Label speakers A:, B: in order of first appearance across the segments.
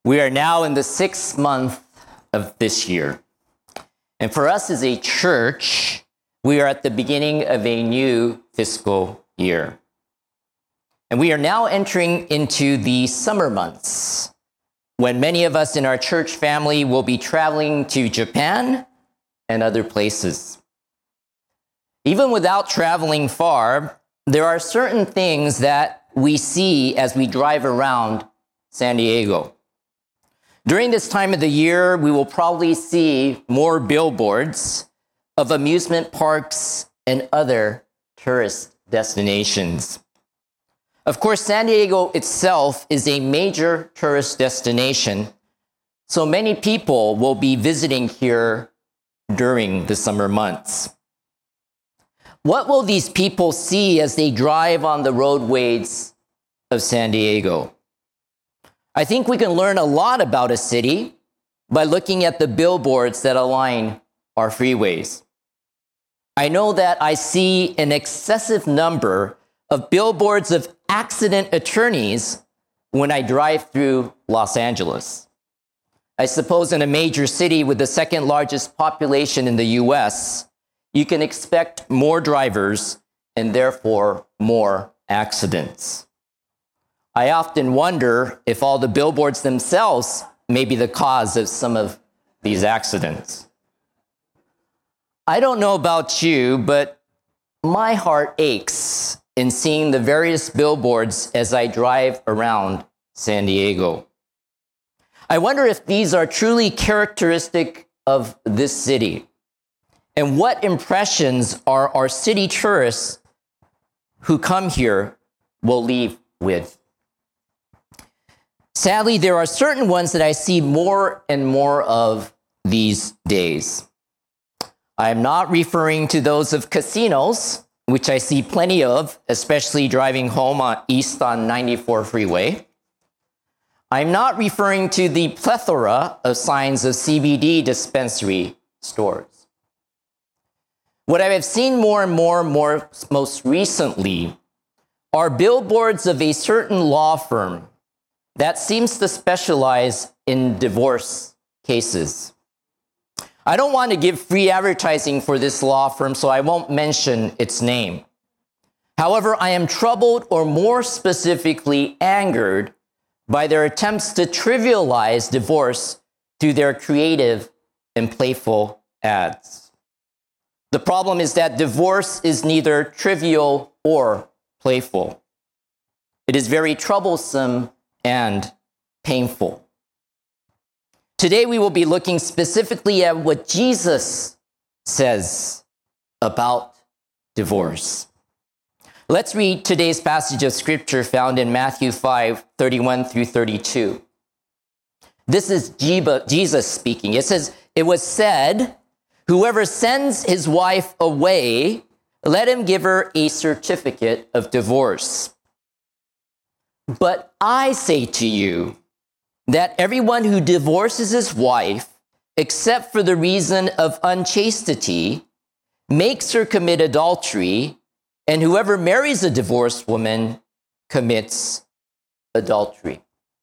A: We are now in the 6th month of this year. And for us as a church, we are at the beginning of a new fiscal year. And we are now entering into the summer months, when many of us in our church family will be traveling to Japan and other places. Even without traveling far, there are certain things that we see as we drive around San Diego. During this time of the year, we will probably see more billboards of amusement parks and other tourist destinations. Of course, San Diego itself is a major tourist destination, so many people will be visiting here during the summer months. What will these people see as they drive on the roadways of San Diego? I think we can learn a lot about a city by looking at the billboards that align our freeways. I know that I see an excessive number of billboards of accident attorneys when I drive through Los Angeles. I suppose in a major city with the second largest population in the US, you can expect more drivers and therefore more accidents. I often wonder if all the billboards themselves may be the cause of some of these accidents. I don't know about you, but my heart aches in seeing the various billboards as I drive around San Diego. I wonder if these are truly characteristic of this city, and what impressions are our city tourists who come here will leave with. Sadly, there are certain ones that I see more and more of these days. I am not referring to those of casinos, which I see plenty of, especially driving home east on 94 freeway. I'm not referring to the plethora of signs of CBD dispensary stores. What I have seen more and more most recently are billboards of a certain law firm that seems to specialize in divorce cases. I don't want to give free advertising for this law firm, so I won't mention its name. However, I am troubled, or more specifically angered, by their attempts to trivialize divorce through their creative and playful ads. The problem is that divorce is neither trivial or playful. It is very troublesome and painful. Today we will be looking specifically at what Jesus says about divorce. Let's read today's passage of scripture found in Matthew 5:31 through 32. This is Jesus speaking. It says, "It was said, whoever sends his wife away, let him give her a certificate of divorce. But I say to you that everyone who divorces his wife, except for the reason of unchastity, makes her commit adultery, and whoever marries a divorced woman commits adultery."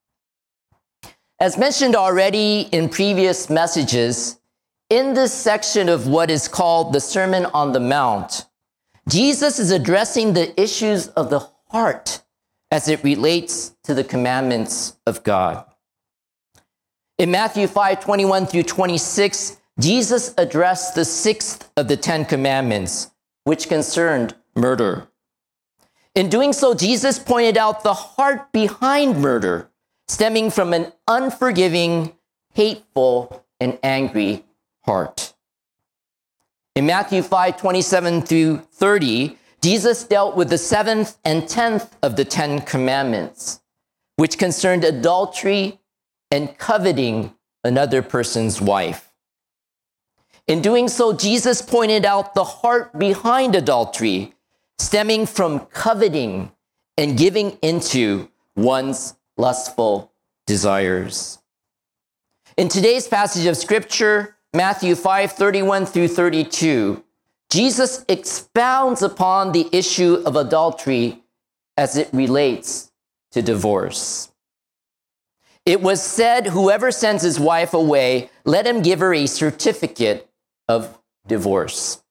A: As mentioned already in previous messages, in this section of what is called the Sermon on the Mount, Jesus is addressing the issues of the heart as it relates to the commandments of God. In Matthew 5:21 through 26, Jesus addressed the 6th of the 10 commandments, which concerned murder. In doing so, Jesus pointed out the heart behind murder, stemming from an unforgiving, hateful, and angry heart. In Matthew 5:27 through 30, Jesus dealt with the 7th and 10th of the 10 commandments, which concerned adultery and coveting another person's wife. In doing so, Jesus pointed out the heart behind adultery, stemming from coveting and giving into one's lustful desires. In today's passage of scripture, Matthew 5:31 through 32, Jesus expounds upon the issue of adultery as it relates to divorce. It was said, whoever sends his wife away, let him give her a certificate of divorce.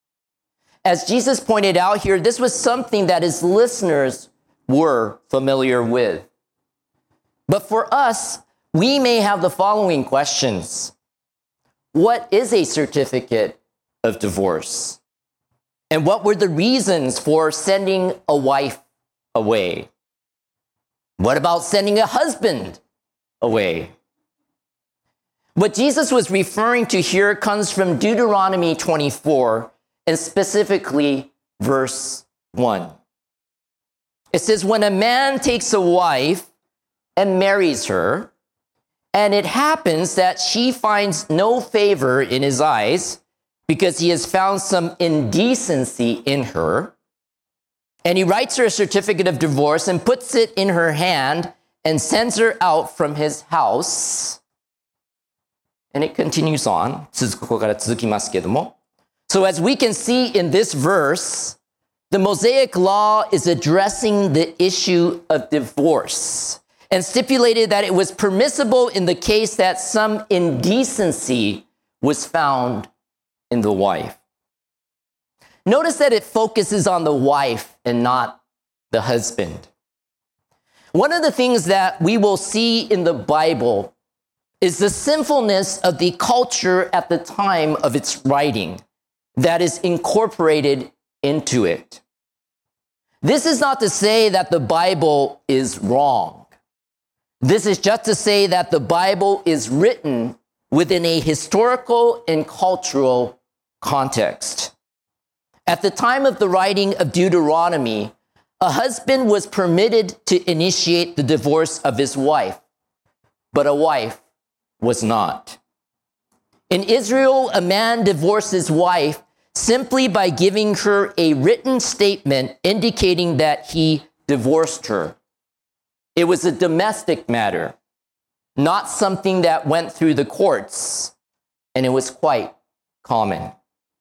A: As Jesus pointed out here, this was something that his listeners were familiar with. But for us, we may have the following questions. What is a certificate of divorce? And what were the reasons for sending a wife away? What about sending a husband away? What Jesus was referring to here comes from Deuteronomy 24, and specifically verse 1. It says, when a man takes a wife and marries her, and it happens that she finds no favor in his eyes because he has found some indecency in her, and he writes her a certificate of divorce and puts it in her hand and sends her out from his house. And it continues on. ここから続きますけども. So as we can see in this verse, the Mosaic law is addressing the issue of divorce and stipulated that it was permissible in the case that some indecency was found in the wife. Notice that it focuses on the wife and not the husband. One of the things that we will see in the Bible is the sinfulness of the culture at the time of its writing that is incorporated into it. This is not to say that the Bible is wrong. This is just to say that the Bible is written within a historical and cultural context. At the time of the writing of Deuteronomy, a husband was permitted to initiate the divorce of his wife, but a wife was not. In Israel, a man divorced his wife simply by giving her a written statement indicating that he divorced her. It was a domestic matter, not something that went through the courts, and it was quite common.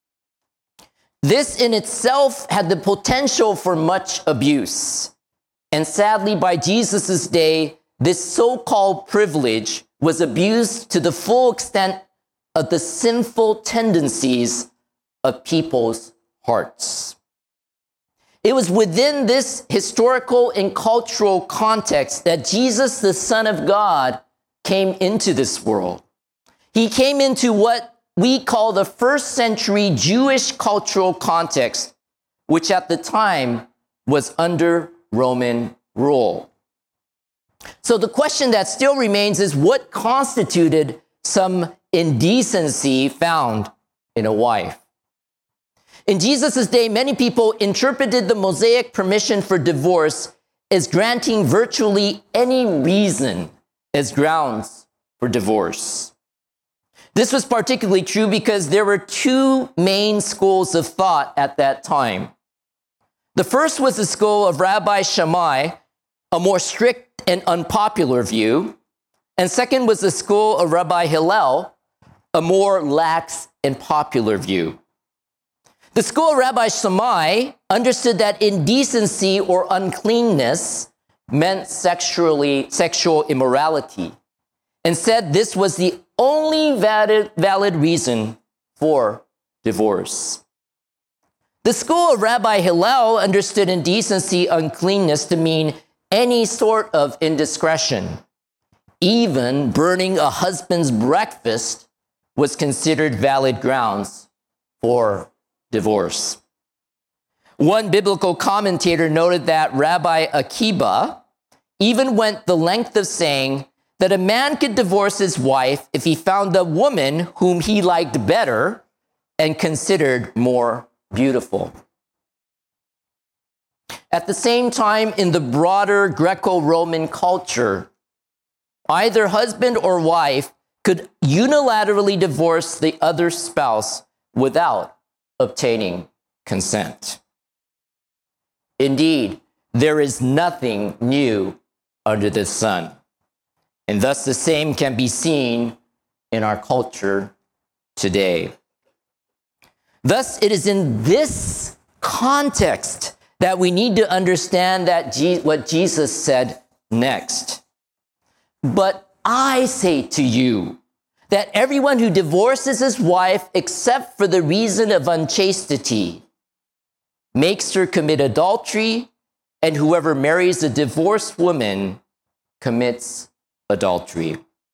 A: This in itself had the potential for much abuse. And sadly, by Jesus' day, this so-called privilege was abused to the full extent of the sinful tendencies of people's hearts. It was within this historical and cultural context that Jesus, the Son of God, came into this world. He came into what we call the first century Jewish cultural context, which at the time was under Roman rule. So the question that still remains is what constituted some indecency found in a wife? In Jesus' day, many people interpreted the Mosaic permission for divorce as granting virtually any reason as grounds for divorce. This was particularly true because there were two main schools of thought at that time. The first was the school of Rabbi Shammai, a more strict and unpopular view. And second was the school of Rabbi Hillel, a more lax and popular view. The school of Rabbi Shammai understood that indecency or uncleanness meant sexual immorality, and said this was the only valid reason for divorce. The school of Rabbi Hillel understood indecency, uncleanness to mean any sort of indiscretion. Even burning a husband's breakfast was considered valid grounds for divorce. One biblical commentator noted that Rabbi Akiba even went the length of saying that a man could divorce his wife if he found a woman whom he liked better and considered more beautiful. At the same time, in the broader Greco-Roman culture, either husband or wife could unilaterally divorce the other spouse without obtaining consent. Indeed, there is nothing new under the sun. And thus the same can be seen in our culture today. Thus, it is in this context that we need to understand that what Jesus said next. But I say to you that everyone who divorces his wife except for the reason of unchastity makes her commit adultery, and whoever marries a divorced woman commits adultery.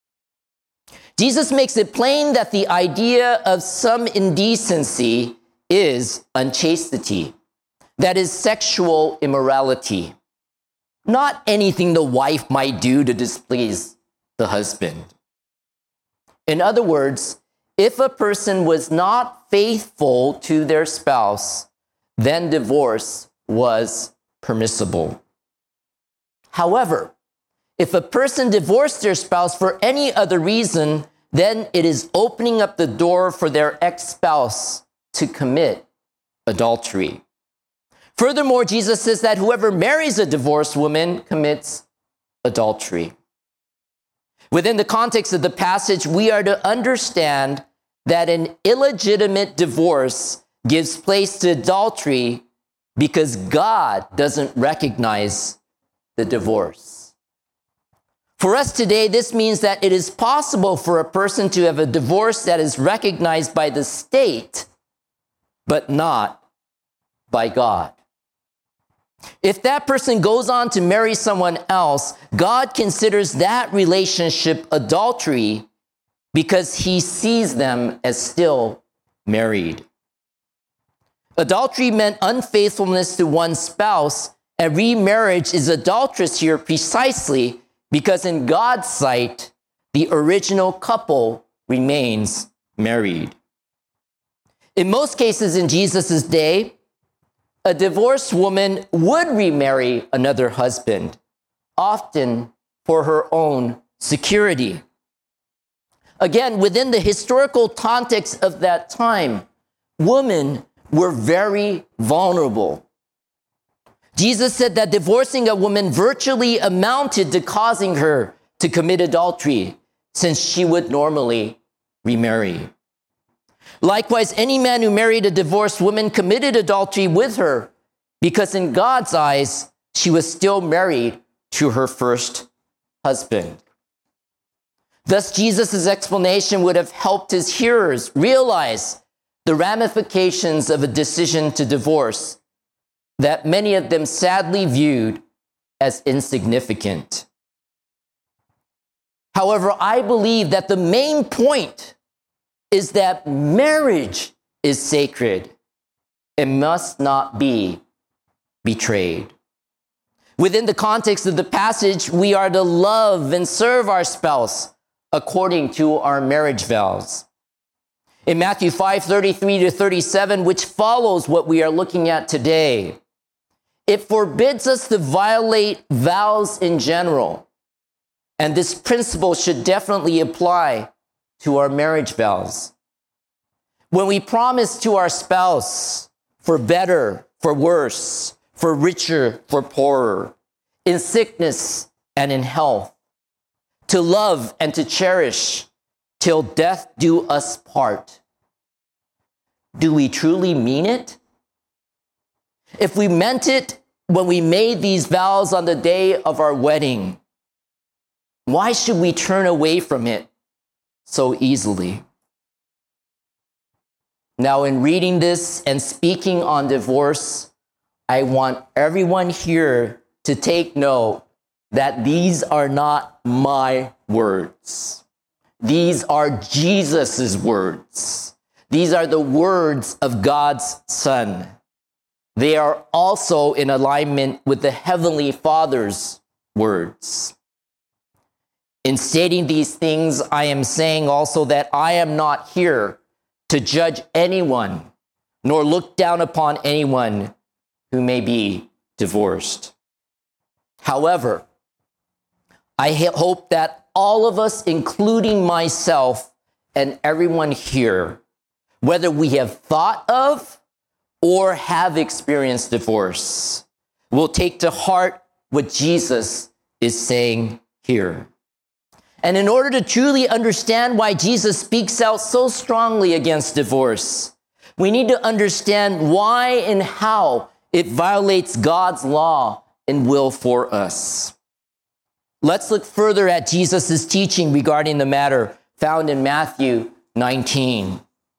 A: Jesus makes it plain that the idea of some indecency is unchastity, that is, sexual immorality, not anything the wife might do to displease the husband. In other words, if a person was not faithful to their spouse, then divorce was permissible. However, if a person divorced their spouse for any other reason, then it is opening up the door for their ex-spouse to commit adultery. Furthermore, Jesus says that whoever marries a divorced woman commits adultery. Within the context of the passage, we are to understand that an illegitimate divorce gives place to adultery because God doesn't recognize the divorce. For us today, this means that it is possible for a person to have a divorce that is recognized by the state, but not by God. If that person goes on to marry someone else, God considers that relationship adultery because he sees them as still married. Adultery meant unfaithfulness to one's spouse, and remarriage is adulterous here precisely because in God's sight, the original couple remains married. In most cases in Jesus' day, a divorced woman would remarry another husband, often for her own security. Again, within the historical context of that time, women were very vulnerable. Jesus said that divorcing a woman virtually amounted to causing her to commit adultery, since she would normally remarry. Likewise, any man who married a divorced woman committed adultery with her, because in God's eyes, she was still married to her first husband. Thus, Jesus' explanation would have helped his hearers realize the ramifications of a decision to divorce that many of them sadly viewed as insignificant. However, I believe that the main point is that marriage is sacred and must not be betrayed. Within the context of the passage, we are to love and serve our spouse according to our marriage vows. In Matthew 5:33-37, which follows what we are looking at today, it forbids us to violate vows in general. And this principle should definitely apply to our marriage vows. When we promise to our spouse for better, for worse, for richer, for poorer, in sickness and in health, to love and to cherish till death do us part, do we truly mean it? If we meant it when we made these vows on the day of our wedding, why should we turn away from it so easily? Now, in reading this and speaking on divorce, I want everyone here to take note that these are not my words. These are Jesus' words. These are the words of God's Son. They are also in alignment with the Heavenly Father's words. In stating these things, I am saying also that I am not here to judge anyone, nor look down upon anyone who may be divorced. However, I hope that all of us, including myself and everyone here, whether we have thought of or have experienced divorce, will take to heart what Jesus is saying here. And in order to truly understand why Jesus speaks out so strongly against divorce, we need to understand why and how it violates God's law and will for us. Let's look further at Jesus' teaching regarding the matter found in Matthew 19.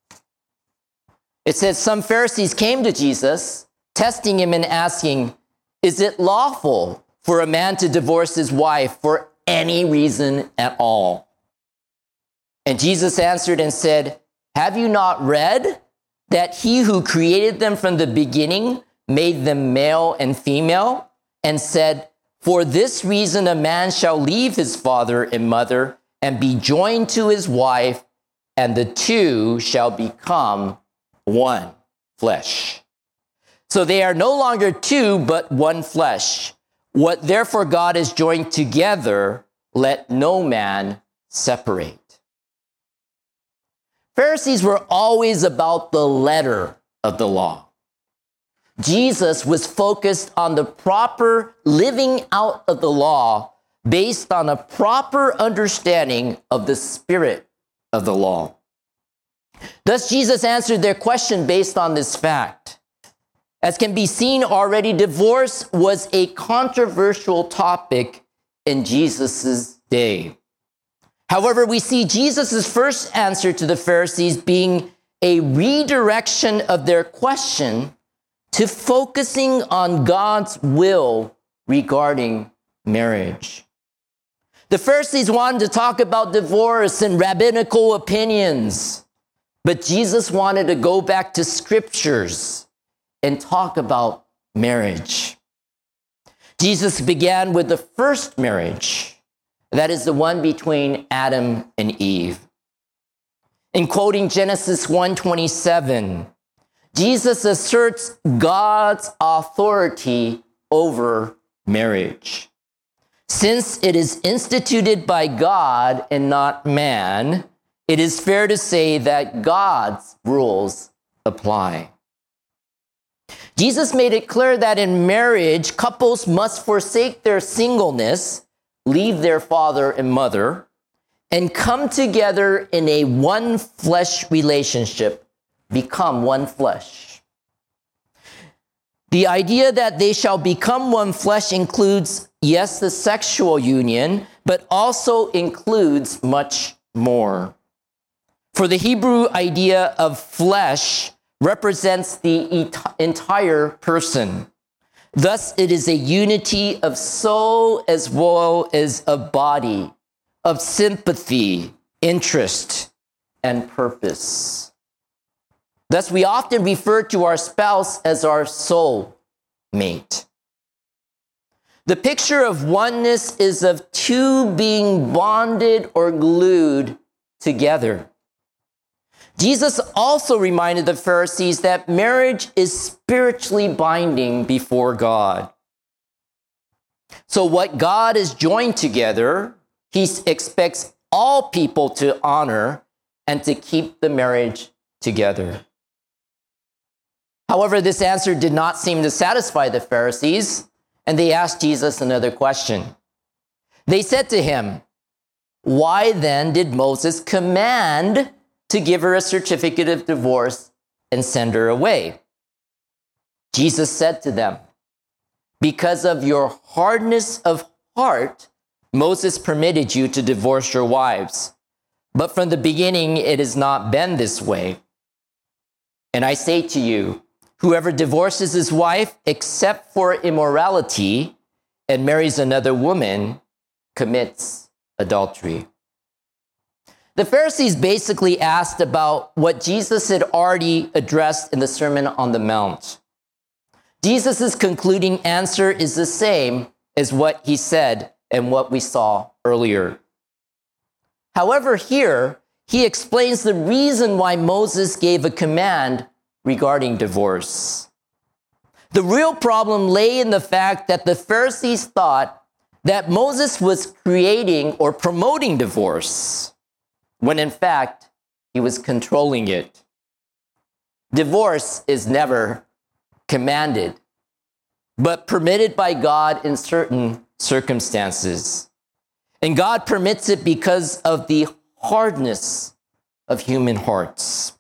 A: It says, some Pharisees came to Jesus, testing him and asking, is it lawful for a man to divorce his wife for any reason at all? And Jesus answered and said, have you not read that he who created them from the beginning made them male and female, and said, for this reason a man shall leave his father and mother and be joined to his wife, and the two shall become one flesh. So they are no longer two, but one flesh. What therefore God has joined together, let no man separate. Pharisees were always about the letter of the law. Jesus was focused on the proper living out of the law based on a proper understanding of the spirit of the law. Thus, Jesus answered their question based on this fact. As can be seen already, divorce was a controversial topic in Jesus' day. However, we see Jesus' first answer to the Pharisees being a redirection of their question to focusing on God's will regarding marriage. The Pharisees wanted to talk about divorce and rabbinical opinions, but Jesus wanted to go back to scriptures and talk about marriage. Jesus began with the first marriage. That is the one between Adam and Eve. In quoting Genesis 1:27, Jesus asserts God's authority over marriage. Since it is instituted by God and not man, it is fair to say that God's rules apply. Jesus made it clear that in marriage, couples must forsake their singleness, leave their father and mother, and come together in a one flesh relationship, become one flesh. The idea that they shall become one flesh includes, yes, the sexual union, but also includes much more. For the Hebrew idea of flesh represents the entire person. Thus, it is a unity of soul as well as of body, of sympathy, interest, and purpose. Thus, we often refer to our spouse as our soul mate. The picture of oneness is of two being bonded or glued together. Jesus also reminded the Pharisees that marriage is spiritually binding before God. So what God has joined together, he expects all people to honor and to keep the marriage together. However, this answer did not seem to satisfy the Pharisees, and they asked Jesus another question. They said to him, why then did Moses command to give her a certificate of divorce and send her away? Jesus said to them, because of your hardness of heart, Moses permitted you to divorce your wives. But from the beginning, it has not been this way. And I say to you, whoever divorces his wife except for immorality and marries another woman commits adultery. The Pharisees basically asked about what Jesus had already addressed in the Sermon on the Mount. Jesus' concluding answer is the same as what he said and what we saw earlier. However, here, he explains the reason why Moses gave a command regarding divorce. The real problem lay in the fact that the Pharisees thought that Moses was creating or promoting divorce, when in fact, he was controlling it. Divorce is never commanded, but permitted by God in certain circumstances. And God permits it because of the hardness of human hearts.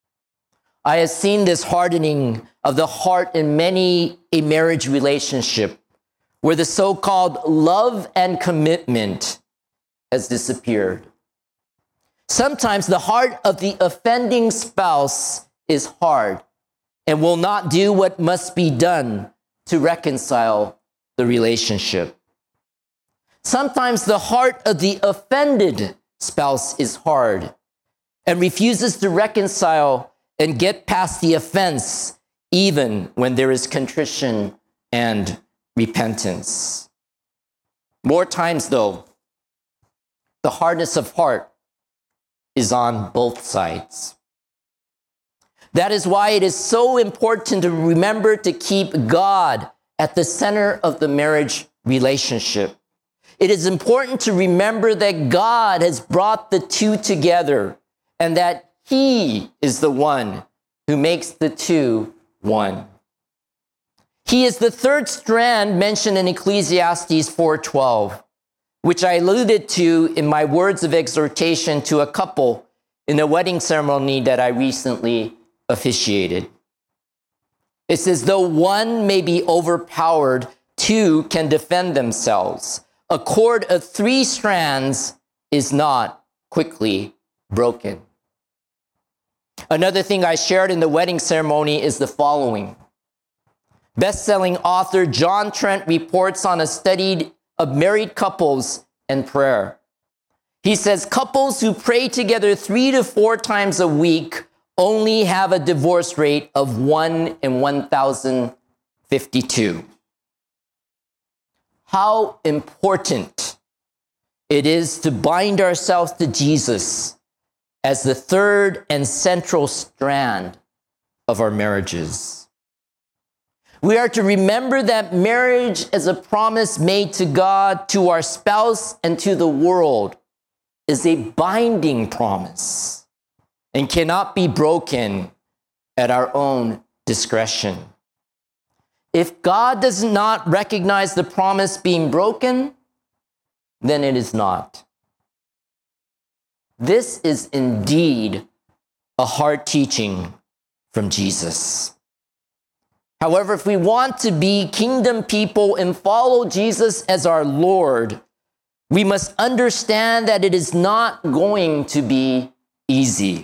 A: I have seen this hardening of the heart in many a marriage relationship where the so-called love and commitment has disappeared. Sometimes the heart of the offending spouse is hard and will not do what must be done to reconcile the relationship. Sometimes the heart of the offended spouse is hard and refuses to reconcile and get past the offense, even when there is contrition and repentance. More times, though, the hardness of heart is on both sides. That is why it is so important to remember to keep God at the center of the marriage relationship. It is important to remember that God has brought the two together and that He is the one who makes the two one. He is the third strand mentioned in Ecclesiastes 4:12, which I alluded to in my words of exhortation to a couple in a wedding ceremony that I recently officiated. It says, though one may be overpowered, two can defend themselves. A cord of 3 strands is not quickly broken. Another thing I shared in the wedding ceremony is the following. Best-selling author John Trent reports on a study of married couples and prayer. He says couples who pray together 3 to 4 times a week only have a divorce rate of 1 in 1,052. How important it is to bind ourselves to Jesus as the third and central strand of our marriages. We are to remember that marriage is a promise made to God, to our spouse, and to the world is a binding promise and cannot be broken at our own discretion. If God does not recognize the promise being broken, then it is not. This is indeed a hard teaching from Jesus. However, if we want to be kingdom people and follow Jesus as our Lord, we must understand that it is not going to be easy.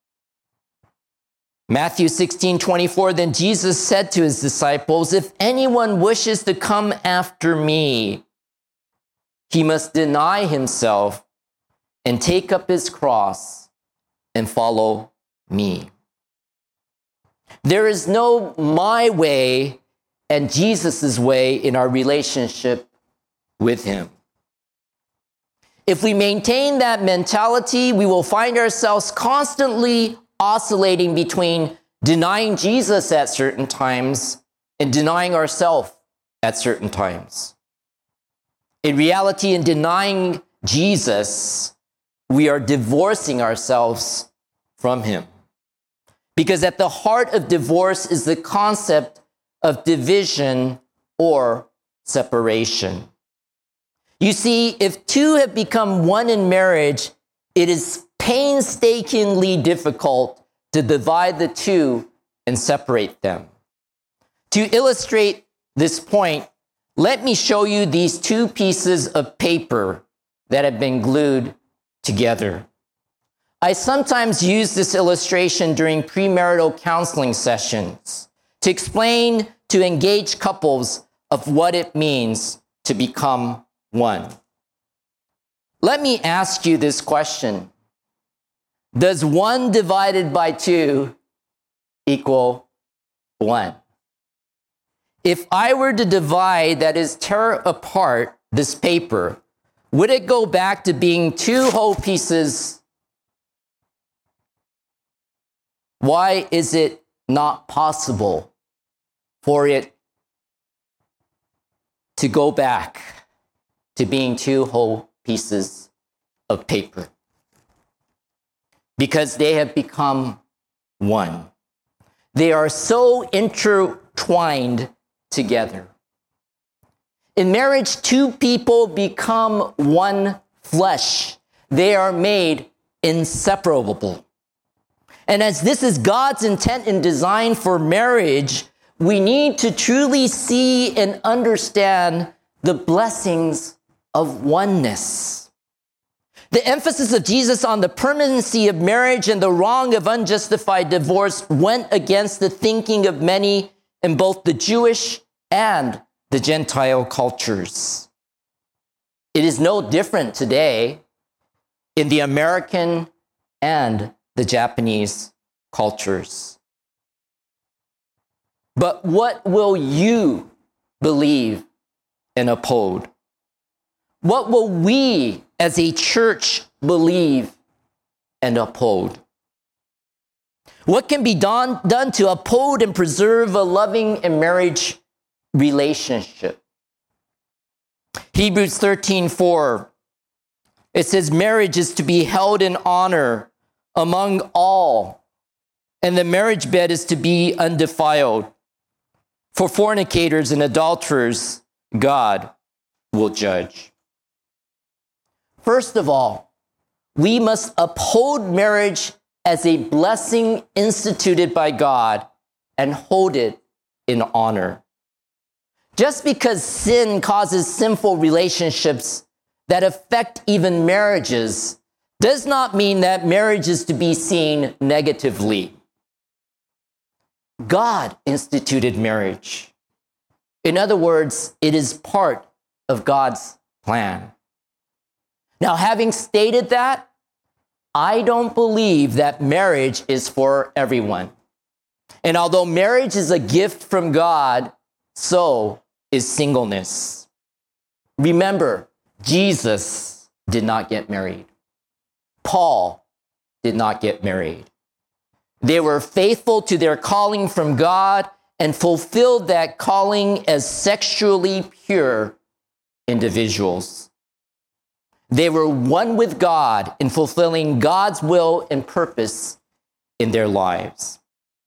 A: Matthew 16:24, then Jesus said to his disciples, if anyone wishes to come after me, he must deny himself and take up his cross and follow me. There is no my way and Jesus' way in our relationship with him. If we maintain that mentality, we will find ourselves constantly oscillating between denying Jesus at certain times and denying ourselves at certain times. In reality, in denying Jesus, we are divorcing ourselves from him. Because at the heart of divorce is the concept of division or separation. You see, if two have become one in marriage, it is painstakingly difficult to divide the two and separate them. To illustrate this point, let me show you these 2 pieces of paper that have been glued together. I sometimes use this illustration during premarital counseling sessions to explain to engaged couples of what it means to become one. Let me ask you this question. Does 1 divided by 2 equal 1? If I were to divide, that is, tear apart this paper, would it go back to being 2 whole pieces? Why is it not possible for it to go back to being 2 whole pieces of paper? Because they have become one. They are so intertwined together. In marriage, 2 people become one flesh. They are made inseparable. And as this is God's intent and design for marriage, we need to truly see and understand the blessings of oneness. The emphasis of Jesus on the permanency of marriage and the wrong of unjustified divorce went against the thinking of many in both the Jewish and the Gentile cultures. It is no different today in the American and the Japanese cultures. But what will you believe and uphold? What will we as a church believe and uphold? What can be done to uphold and preserve a loving and marriage relationship? Hebrews 13:4, it says, marriage is to be held in honor among all, and the marriage bed is to be undefiled. For fornicators and adulterers, God will judge. First of all, we must uphold marriage as a blessing instituted by God and hold it in honor. Just because sin causes sinful relationships that affect even marriages does not mean that marriage is to be seen negatively. God instituted marriage. In other words, it is part of God's plan. Now, having stated that, I don't believe that marriage is for everyone. And although marriage is a gift from God, so is singleness. Remember, Jesus did not get married. Paul did not get married. They were faithful to their calling from God and fulfilled that calling as sexually pure individuals. They were one with God in fulfilling God's will and purpose in their lives.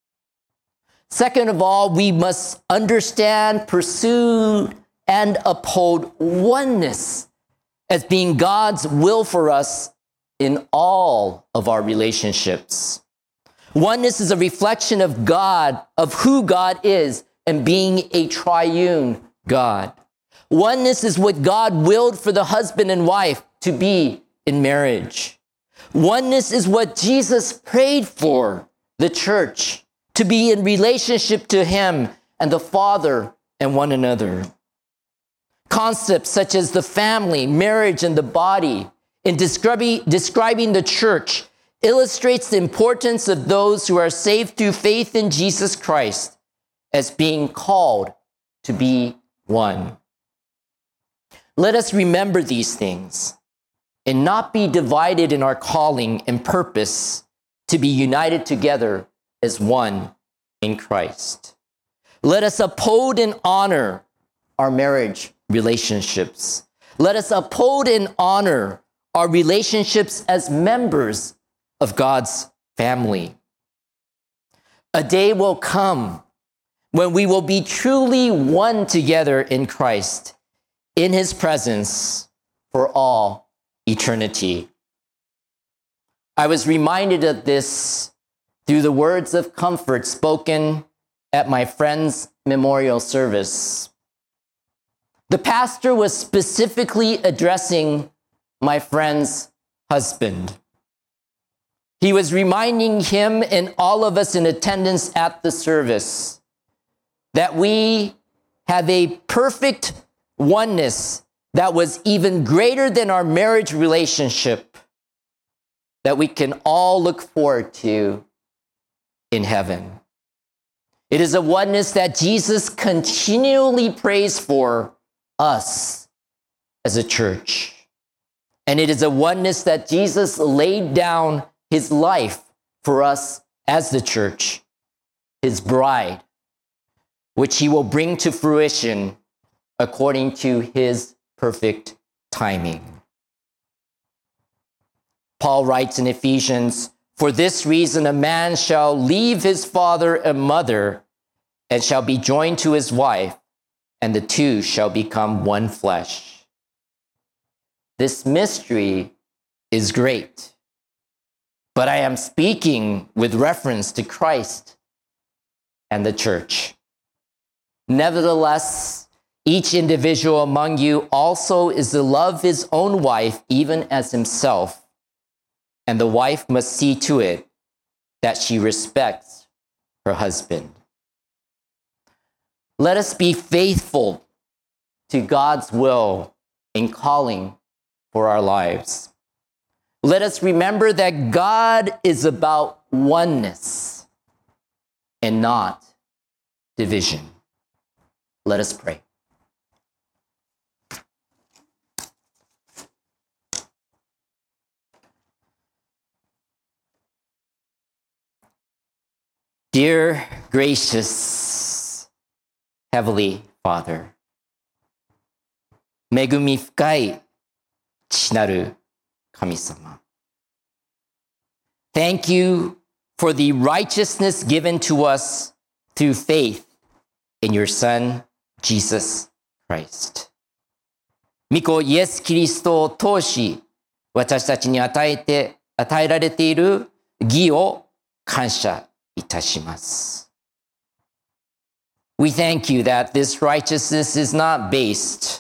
A: Second of all, we must understand, pursue, and uphold oneness as being God's will for us in all of our relationships. Oneness is a reflection of God, of who God is, and being a triune God. Oneness is what God willed for the husband and wife to be in marriage. Oneness is what Jesus prayed for the church, to be in relationship to him and the Father and one another. Concepts such as the family, marriage, and the body in describing the church illustrates the importance of those who are saved through faith in Jesus Christ as being called to be one. Let us remember these things and not be divided in our calling and purpose to be united together as one in Christ. Let us uphold and honor our marriage relationships. Let us uphold and honor our relationships as members of God's family. A day will come when we will be truly one together in Christ, in his presence for all eternity. I was reminded of this through the words of comfort spoken at my friend's memorial service. The pastor was specifically addressing my friend's husband. He was reminding him and all of us in attendance at the service that we have a perfect oneness that was even greater than our marriage relationship that we can all look forward to in heaven. It is a oneness that Jesus continually prays for us as a church. And it is a oneness that Jesus laid down his life for us as the church, his bride, which he will bring to fruition according to his perfect timing. Paul writes in Ephesians, "For this reason a man shall leave his father and mother and shall be joined to his wife, and the two shall become one flesh." This mystery is great, but I am speaking with reference to Christ and the church. Nevertheless, Each individual among you also is to love his own wife even as himself, and the wife must see to it that she respects her husband. Let us be faithful to God's will in calling for our lives. Let us remember that God is about oneness and not division. Let us pray. Dear gracious Heavenly Father, 恵み深い父なる神様。Thank you for the righteousness given to us through faith in your Son, Jesus Christ. 御子イエス・キリストを通し、私たちに与えられている義を感謝いたします。We thank you that this righteousness is not based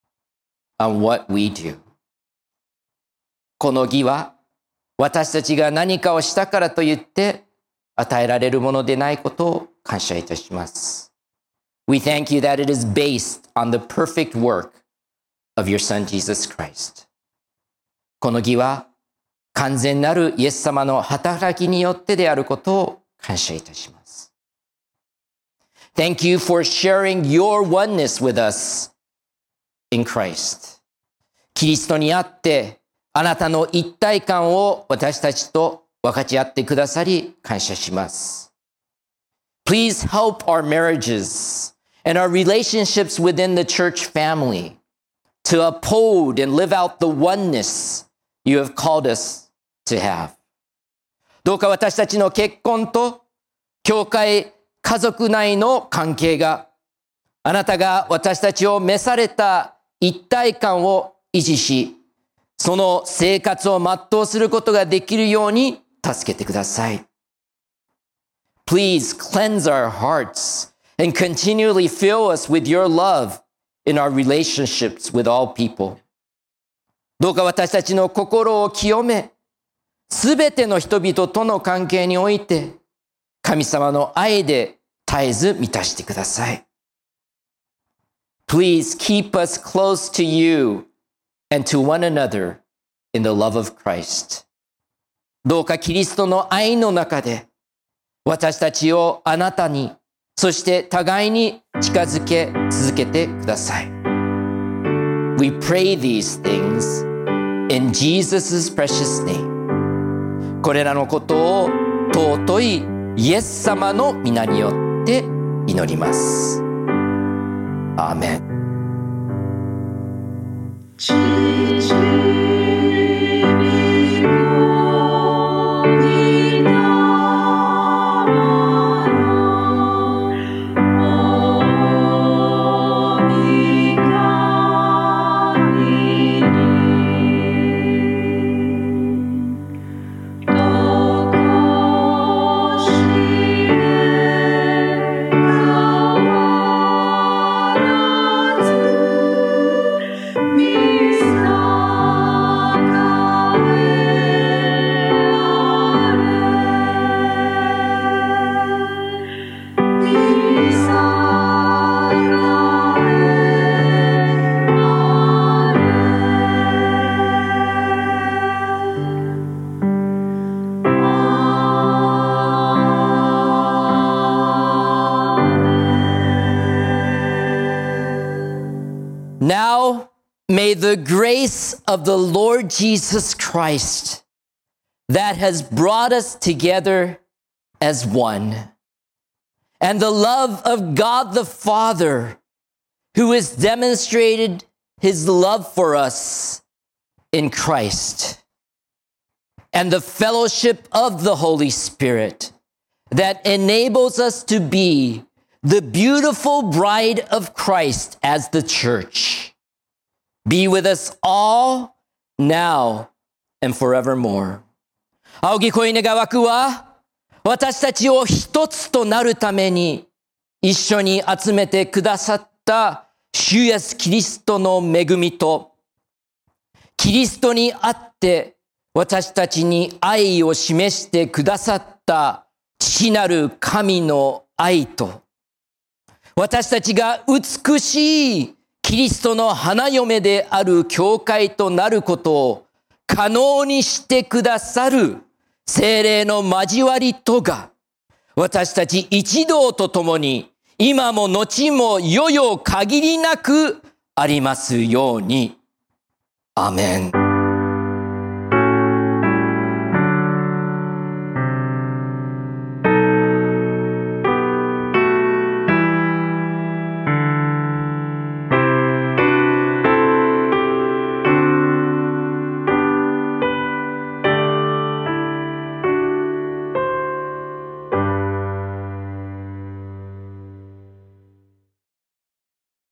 A: on what we do. この義は私たちが何かをしたからといって与えられるものでないことを感謝いたします。We thank you that it is based on the perfect work of your Son Jesus Christ. この義は完全なるイエス様の働きによってであることを感謝いたします。Thank you for sharing your oneness with us in Christ. キリストにあってあなたの一体感を私たちと分かち合ってくださり感謝します。Please help our marriages and our relationships within the church family to uphold and live out the oneness you have called us to have. どうか私たちの結婚と教会、家族内の関係があなたが私たちを召された一体感を維持し、その生活を全うすることができるように助けてください。Please cleanse our hearts and continually fill us with your love in our relationships with all people. どうか私たちの心を清め、すべての人々との関係において、神様の愛で絶えず満たしてください。Please keep us close to you and to one another in the love of Christ. どうかキリストの愛の中で、私たちをあなたに、そして互いに近づけ続けてください。We pray these things in Jesus' precious name. これらのことを尊いイエス様の皆によって祈ります。アーメン。Now, may the grace of the Lord Jesus Christ that has brought us together as one, and the love of God the Father, who has demonstrated his love for us in Christ, and the fellowship of the Holy Spirit that enables us to be the beautiful bride of Christ as the church, be with us all now and forevermore. 仰ぎ声願わくは、私たちを一つとなるために一緒に集めてくださった主主イエスキリストの恵みと、キリストにあって私たちに愛を示してくださった父なる神の愛と、私たちが美しいキリストの花嫁である教会となることを可能にしてくださる聖霊の交わりとが、私たち一同と共に今も後も世々限りなくありますように。アメン。